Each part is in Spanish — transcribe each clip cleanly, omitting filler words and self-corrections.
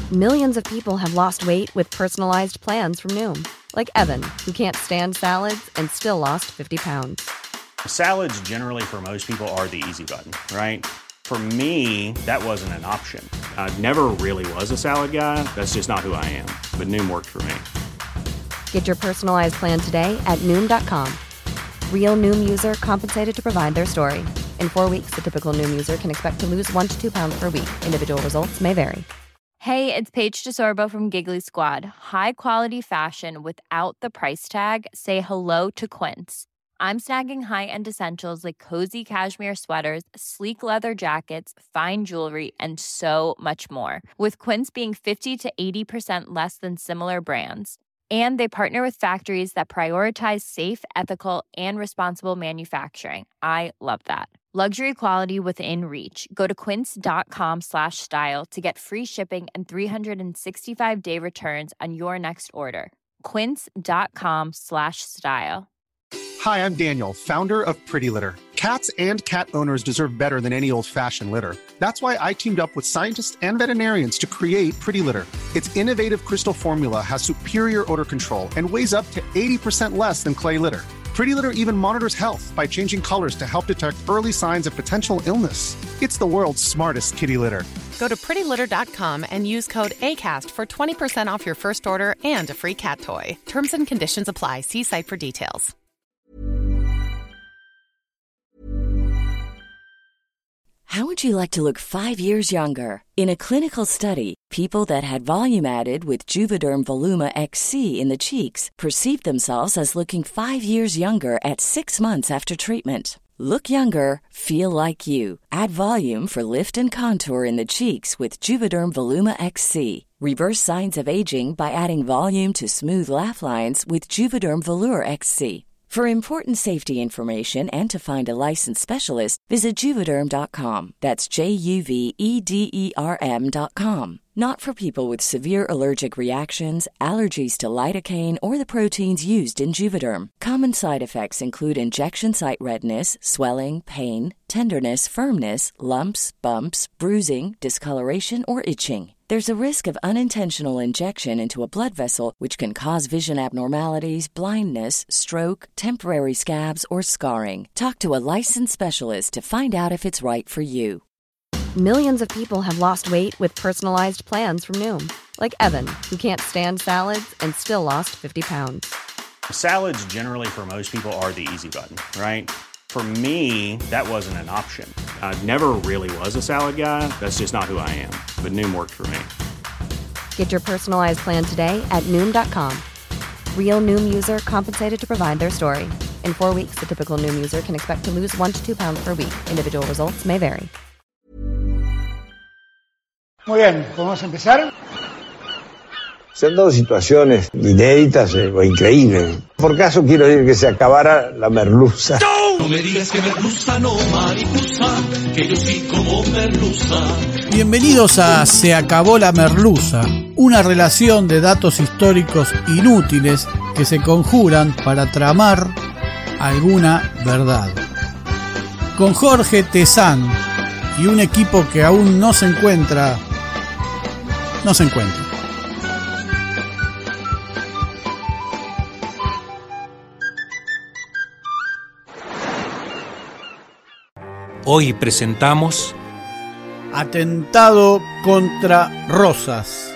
Millions of people have lost weight with personalized plans from Noom. Like Evan, who can't stand salads and still lost 50 pounds. Salads generally for most people are the easy button, right? For me, that wasn't an option. I never really was a salad guy. That's just not who I am. But Noom worked for me. Get your personalized plan today at Noom.com. Real Noom user compensated to provide their story. In 4 weeks, the typical Noom user can expect to lose 1 to 2 pounds per week. Individual results may vary. Hey, it's Paige DeSorbo from Giggly Squad. High quality fashion without the price tag. Say hello to Quince. I'm snagging high-end essentials like cozy cashmere sweaters, sleek leather jackets, fine jewelry, and so much more. With Quince being 50 to 80% less than similar brands. And they partner with factories that prioritize safe, ethical, and responsible manufacturing. I love that. Luxury quality within reach. Go to quince.com/style to get free shipping and 365-day returns on your next order. Quince.com/style. Hi, I'm Daniel, founder of Pretty Litter. Cats and cat owners deserve better than any old-fashioned litter. That's why I teamed up with scientists and veterinarians to create Pretty Litter. Its innovative crystal formula has superior odor control and weighs up to 80% less than clay litter. Pretty Litter even monitors health by changing colors to help detect early signs of potential illness. It's the world's smartest kitty litter. Go to prettylitter.com and use code ACAST for 20% off your first order and a free cat toy. Terms and conditions apply. See site for details. How would you like to look 5 years younger? In a clinical study, people that had volume added with Juvederm Voluma XC in the cheeks perceived themselves as looking 5 years younger at 6 months after treatment. Look younger, feel like you. Add volume for lift and contour in the cheeks with Juvederm Voluma XC. Reverse signs of aging by adding volume to smooth laugh lines with Juvederm Volure XC. For important safety information and to find a licensed specialist, visit Juvederm.com. That's JUVEDERM.com. Not for people with severe allergic reactions, allergies to lidocaine, or the proteins used in Juvederm. Common side effects include injection site redness, swelling, pain, tenderness, firmness, lumps, bumps, bruising, discoloration, or itching. There's a risk of unintentional injection into a blood vessel, which can cause vision abnormalities, blindness, stroke, temporary scabs, or scarring. Talk to a licensed specialist to find out if it's right for you. Millions of people have lost weight with personalized plans from Noom. Like Evan, who can't stand salads and still lost 50 pounds. Salads generally for most people are the easy button, right? For me, that wasn't an option. I never really was a salad guy. That's just not who I am. But Noom worked for me. Get your personalized plan today at Noom.com. Real Noom user compensated to provide their story. In 4 weeks, the typical Noom user can expect to lose 1 to 2 pounds per week. Individual results may vary. Muy bien, ¿podemos empezar? Se han dado situaciones inéditas o increíbles. Por caso quiero decir que se acabara la merluza. No me digas que merluza, no mariposa, que yo sí como merluza. Bienvenidos a Se acabó la merluza, una relación de datos históricos inútiles que se conjuran para tramar alguna verdad. Con Jorge Tezán y un equipo que aún no se encuentra. Hoy presentamos Atentado contra Rosas.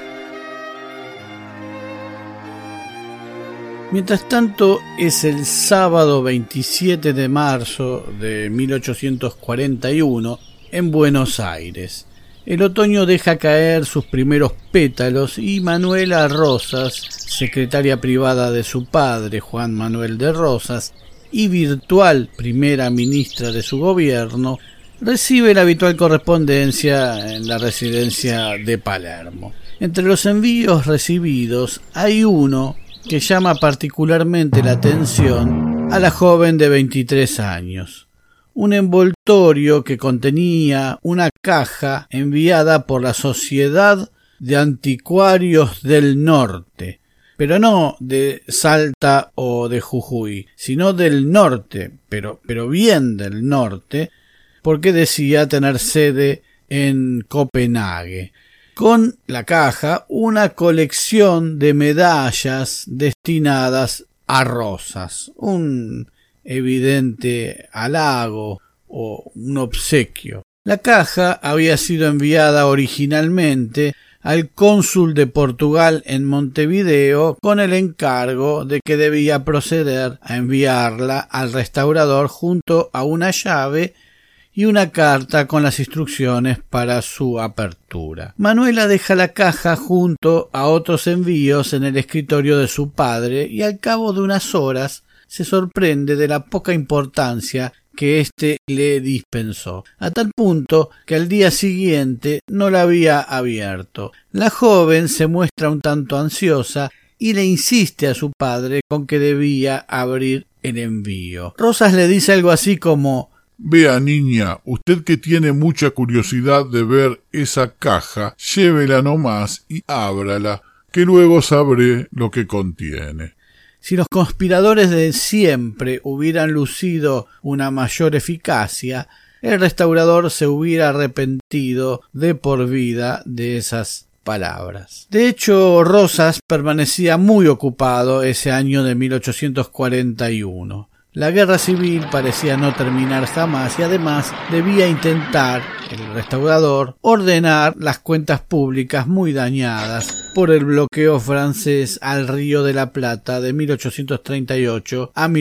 Mientras tanto, es el sábado 27 de marzo de 1841 en Buenos Aires. El otoño deja caer sus primeros pétalos y Manuela Rosas, secretaria privada de su padre, Juan Manuel de Rosas, y virtual primera ministra de su gobierno, recibe la habitual correspondencia en la residencia de Palermo. Entre los envíos recibidos hay uno que llama particularmente la atención a la joven de 23 años. Un envoltorio que contenía una caja enviada por la Sociedad de Anticuarios del Norte, pero no de Salta o de Jujuy, sino del norte, pero bien del norte, porque decía tener sede en Copenhague. con la caja una colección de medallas destinadas a Rosas, un evidente halago o un obsequio. La caja había sido enviada originalmente al cónsul de Portugal en Montevideo con el encargo de que debía proceder a enviarla al restaurador junto a una llave y una carta con las instrucciones para su apertura. Manuela deja la caja junto a otros envíos en el escritorio de su padre y al cabo de unas horas se sorprende de la poca importancia que éste le dispensó, a tal punto que al día siguiente no la había abierto. La joven se muestra un tanto ansiosa y le insiste a su padre con que debía abrir el envío. Rosas le dice algo así como: «Vea, niña, usted que tiene mucha curiosidad de ver esa caja, llévela nomás y ábrala, que luego sabré lo que contiene». Si los conspiradores de siempre hubieran lucido una mayor eficacia, el restaurador se hubiera arrepentido de por vida de esas palabras. De hecho, Rosas permanecía muy ocupado ese año de 1841. La guerra civil parecía no terminar jamás y además debía intentar, el restaurador, ordenar las cuentas públicas muy dañadas por el bloqueo francés al Río de la Plata de 1838 a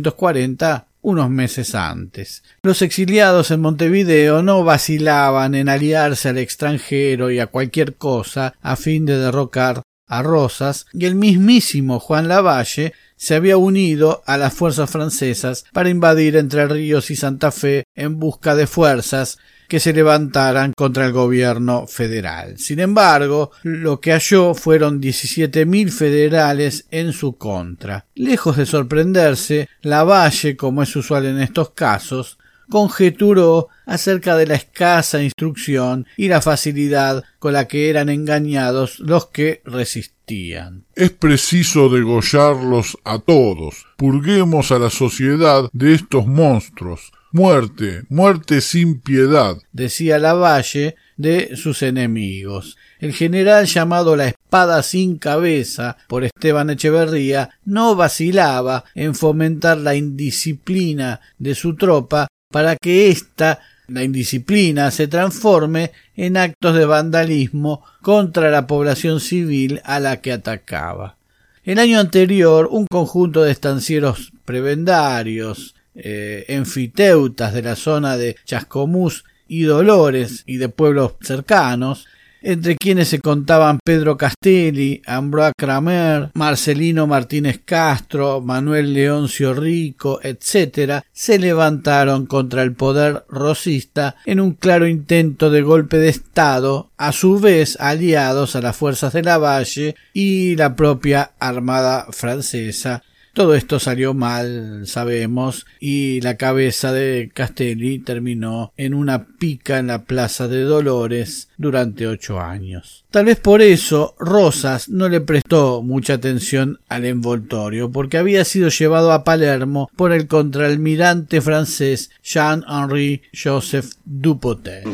1840, unos meses antes. Los exiliados en Montevideo no vacilaban en aliarse al extranjero y a cualquier cosa a fin de derrocar a Rosas, y el mismísimo Juan Lavalle se había unido a las fuerzas francesas para invadir Entre Ríos y Santa Fe en busca de fuerzas que se levantaran contra el gobierno federal. Sin embargo, lo que halló fueron 17.000 federales en su contra. Lejos de sorprenderse, Lavalle, como es usual en estos casos, conjeturó acerca de la escasa instrucción y la facilidad con la que eran engañados los que resistían. «Es preciso degollarlos a todos. Purguemos a la sociedad de estos monstruos. Muerte, muerte sin piedad», decía Lavalle de sus enemigos. El general llamado la Espada sin Cabeza por Esteban Echeverría no vacilaba en fomentar la indisciplina de su tropa para que la indisciplina se transforme en actos de vandalismo contra la población civil a la que atacaba. El año anterior, un conjunto de estancieros prebendarios, enfiteutas de la zona de Chascomús y Dolores y de pueblos cercanos, entre quienes se contaban Pedro Castelli, Ambroise Kramer, Marcelino Martínez Castro, Manuel Leoncio Rico, etc., se levantaron contra el poder rosista en un claro intento de golpe de Estado, a su vez aliados a las fuerzas de Lavalle y la propia Armada francesa. Todo esto salió mal, sabemos, y la cabeza de Castelli terminó en una pica en la plaza de Dolores durante 8 años. Tal vez por eso Rosas no le prestó mucha atención al envoltorio, porque había sido llevado a Palermo por el contraalmirante francés Jean-Henri Joseph Dupotet,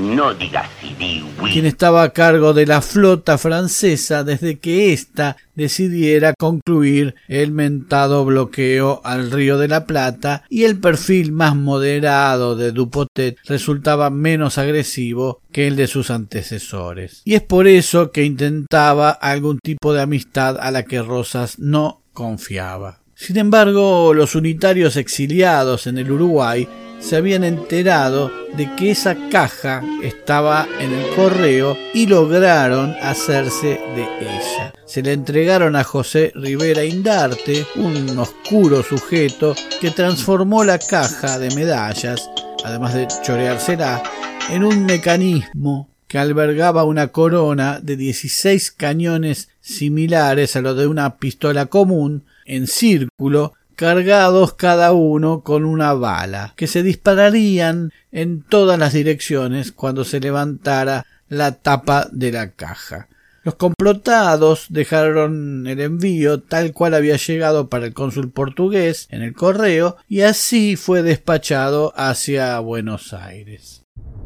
quien estaba a cargo de la flota francesa desde que ésta decidiera concluir el mentado bloqueo al Río de la Plata, y el perfil más moderado de Dupotet resultaba menos agresivo que el de sus antecesores. Y es por eso que intentaba algún tipo de amistad a la que Rosas no confiaba. Sin embargo, los unitarios exiliados en el Uruguay se habían enterado de que esa caja estaba en el correo y lograron hacerse de ella. Se le entregaron a José Rivera Indarte, un oscuro sujeto que transformó la caja de medallas, además de choreársela, en un mecanismo que albergaba una corona de 16 cañones similares a los de una pistola común, en círculo, cargados cada uno con una bala, que se dispararían en todas las direcciones cuando se levantara la tapa de la caja. Los complotados dejaron el envío tal cual había llegado para el cónsul portugués en el correo, y así fue despachado hacia Buenos Aires.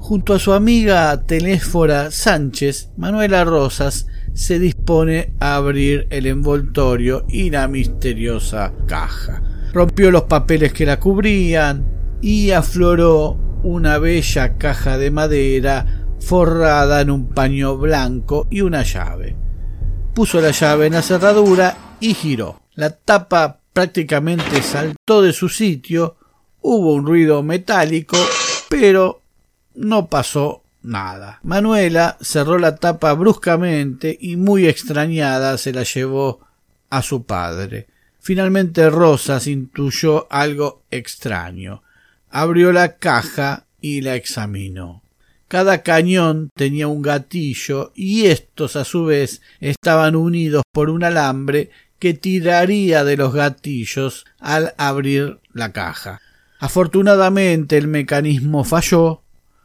Junto a su amiga Telésfora Sánchez, Manuela Rosas se dispone a abrir el envoltorio y la misteriosa caja. Rompió los papeles que la cubrían y afloró una bella caja de madera forrada en un paño blanco y una llave. Puso la llave en la cerradura y giró. La tapa prácticamente saltó de su sitio, hubo un ruido metálico, pero no pasó nada. Manuela cerró la tapa bruscamente y muy extrañada se la llevó a su padre. Finalmente Rosas intuyó algo extraño. Abrió la caja y la examinó. Cada cañón tenía un gatillo y estos a su vez estaban unidos por un alambre que tiraría de los gatillos al abrir la caja. Afortunadamente el mecanismo falló.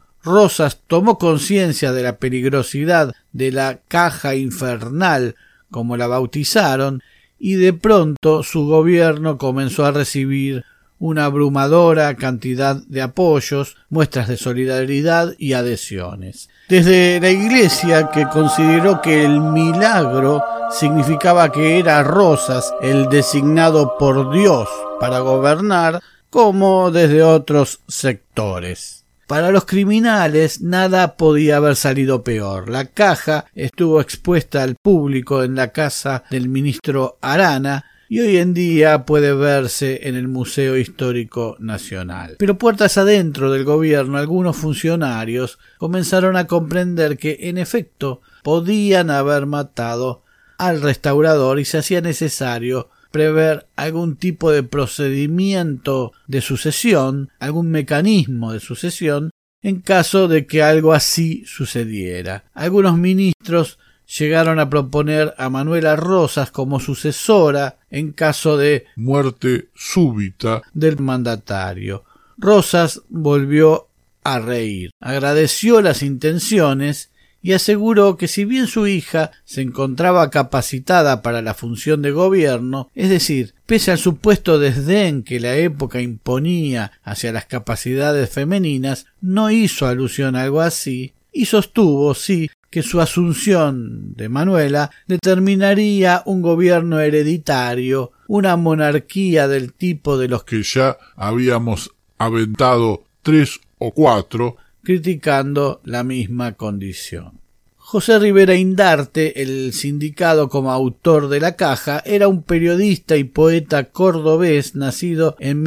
Rosas tomó conciencia de la peligrosidad de la caja infernal, como la bautizaron, y de pronto su gobierno comenzó a recibir una abrumadora cantidad de apoyos, muestras de solidaridad y adhesiones. Desde la Iglesia, que consideró que el milagro significaba que era Rosas el designado por Dios para gobernar, como desde otros sectores. Para los criminales nada podía haber salido peor. La caja estuvo expuesta al público en la casa del ministro Arana y hoy en día puede verse en el Museo Histórico Nacional. Pero puertas adentro del gobierno, algunos funcionarios comenzaron a comprender que, en efecto, podían haber matado al restaurador y se hacía necesario prever algún tipo de procedimiento de sucesión, algún mecanismo de sucesión, en caso de que algo así sucediera. Algunos ministros llegaron a proponer a Manuela Rosas como sucesora en caso de muerte súbita del mandatario. Rosas volvió a reír, agradeció las intenciones y aseguró que si bien su hija se encontraba capacitada para la función de gobierno, es decir, pese al supuesto desdén que la época imponía hacia las capacidades femeninas, no hizo alusión a algo así, y sostuvo, sí, que su asunción de Manuela determinaría un gobierno hereditario, una monarquía del tipo de los que ya habíamos aventado 3 o 4, criticando la misma condición. José Rivera Indarte, el sindicado como autor de la caja, era un periodista y poeta cordobés nacido en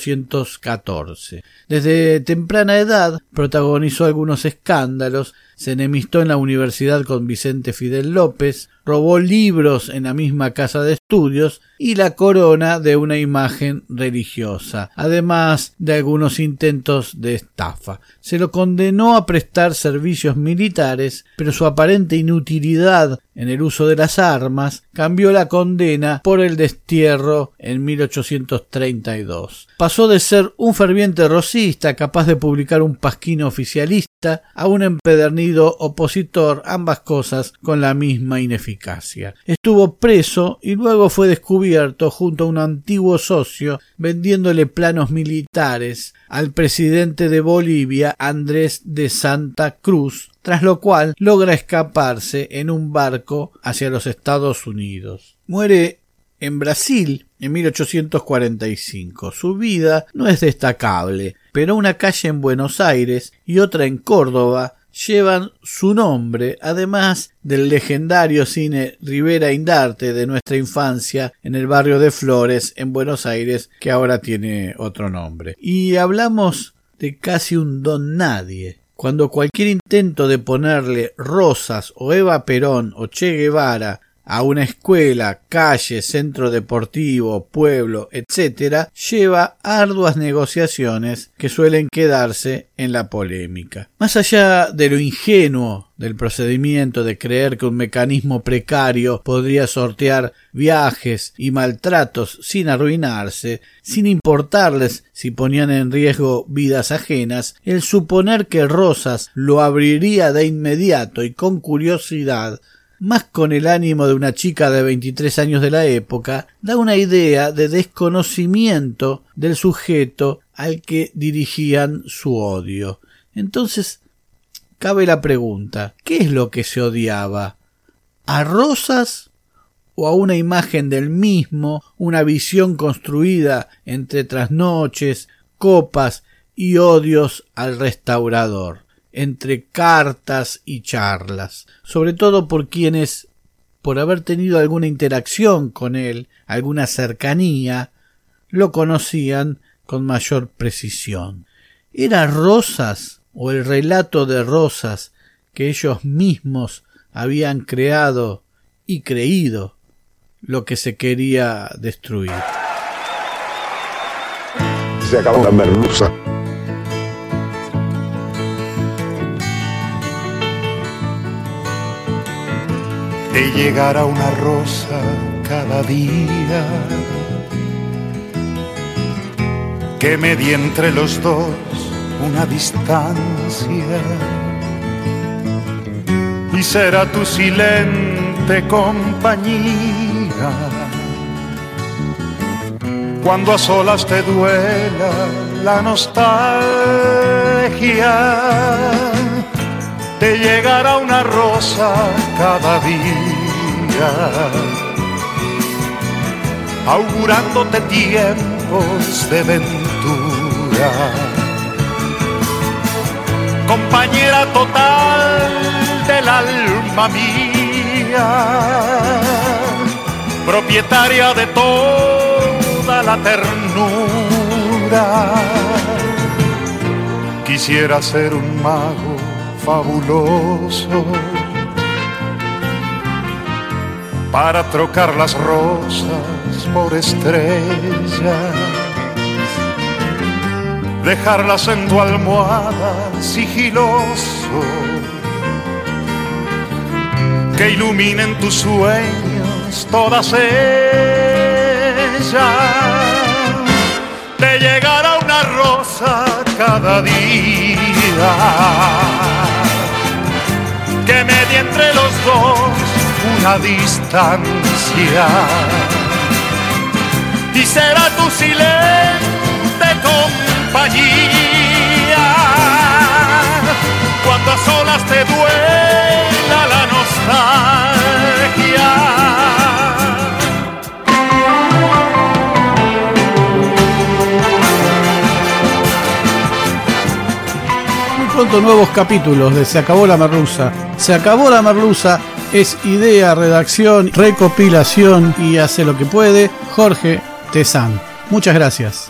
1814. Desde temprana edad protagonizó algunos escándalos, se enemistó en la universidad con Vicente Fidel López, robó libros en la misma casa de estudios y la corona de una imagen religiosa, además de algunos intentos de estafa. Se lo condenó a prestar servicios militares, pero su aparente inutilidad en el uso de las armas cambió la condena por el destierro en 1832. Pasó de ser un ferviente rosista capaz de publicar un pasquín oficialista a un empedernido opositor, ambas cosas con la misma ineficacia. Estuvo preso y luego fue descubierto junto a un antiguo socio vendiéndole planos militares al presidente de Bolivia, Andrés de Santa Cruz, tras lo cual logra escaparse en un barco hacia los Estados Unidos. Muere en Brasil en 1845. Su vida no es destacable, pero una calle en Buenos Aires y otra en Córdoba llevan su nombre, además del legendario cine Rivera Indarte de nuestra infancia en el barrio de Flores, en Buenos Aires, que ahora tiene otro nombre. Y hablamos de casi un don nadie. Cuando cualquier intento de ponerle Rosas o Eva Perón o Che Guevara a una escuela, calle, centro deportivo, pueblo, etc., lleva arduas negociaciones que suelen quedarse en la polémica. Más allá de lo ingenuo del procedimiento de creer que un mecanismo precario podría sortear viajes y maltratos sin arruinarse, sin importarles si ponían en riesgo vidas ajenas, el suponer que Rosas lo abriría de inmediato y con curiosidad, más con el ánimo de una chica de 23 años de la época, da una idea de desconocimiento del sujeto al que dirigían su odio. Entonces, cabe la pregunta, ¿qué es lo que se odiaba? ¿A Rosas o a una imagen del mismo, una visión construida entre trasnoches, copas y odios al restaurador, entre cartas y charlas, sobre todo por quienes, por haber tenido alguna interacción con él, alguna cercanía, lo conocían con mayor precisión? ¿Era Rosas o el relato de Rosas que ellos mismos habían creado y creído lo que se quería destruir? Se acabó la merluza. Te llegará una rosa cada día que medie entre los dos una distancia, y será tu silente compañía cuando a solas te duela la nostalgia. Te llegará una rosa cada día, augurándote tiempos de ventura, compañera total del alma mía, propietaria de toda la ternura. Quisiera ser un mago fabuloso para trocar las rosas por estrellas, dejarlas en tu almohada sigiloso, que iluminen tus sueños todas ellas. Te llegará una rosa cada día que medie entre los dos una distancia, y será tu silente compañía cuando a solas te duela la nostalgia. Pronto nuevos capítulos de Se acabó la merluza. Se acabó la merluza es idea, redacción, recopilación y hace lo que puede Jorge Tezán. Muchas gracias.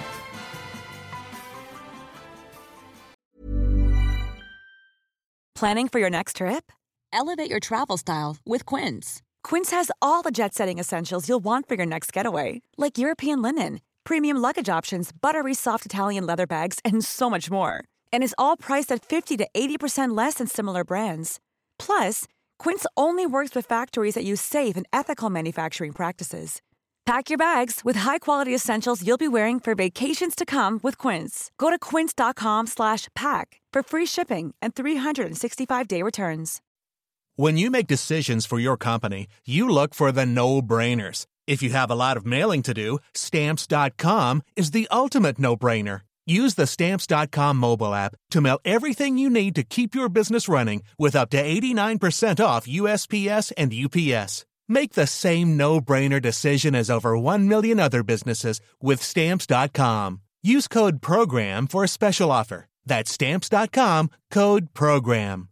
Planning for your next trip? Elevate your travel style with Quince. Quince has all the jet-setting essentials you'll want for your next getaway, like European linen, premium luggage options, buttery soft Italian leather bags, and so much more. And is all priced at 50 to 80% less than similar brands. Plus, Quince only works with factories that use safe and ethical manufacturing practices. Pack your bags with high-quality essentials you'll be wearing for vacations to come with Quince. Go to quince.com/pack for free shipping and 365-day returns. When you make decisions for your company, you look for the no-brainers. If you have a lot of mailing to do, Stamps.com is the ultimate no-brainer. Use the Stamps.com mobile app to mail everything you need to keep your business running with up to 89% off USPS and UPS. Make the same no-brainer decision as over 1 million other businesses with Stamps.com. Use code PROGRAM for a special offer. That's Stamps.com, code PROGRAM.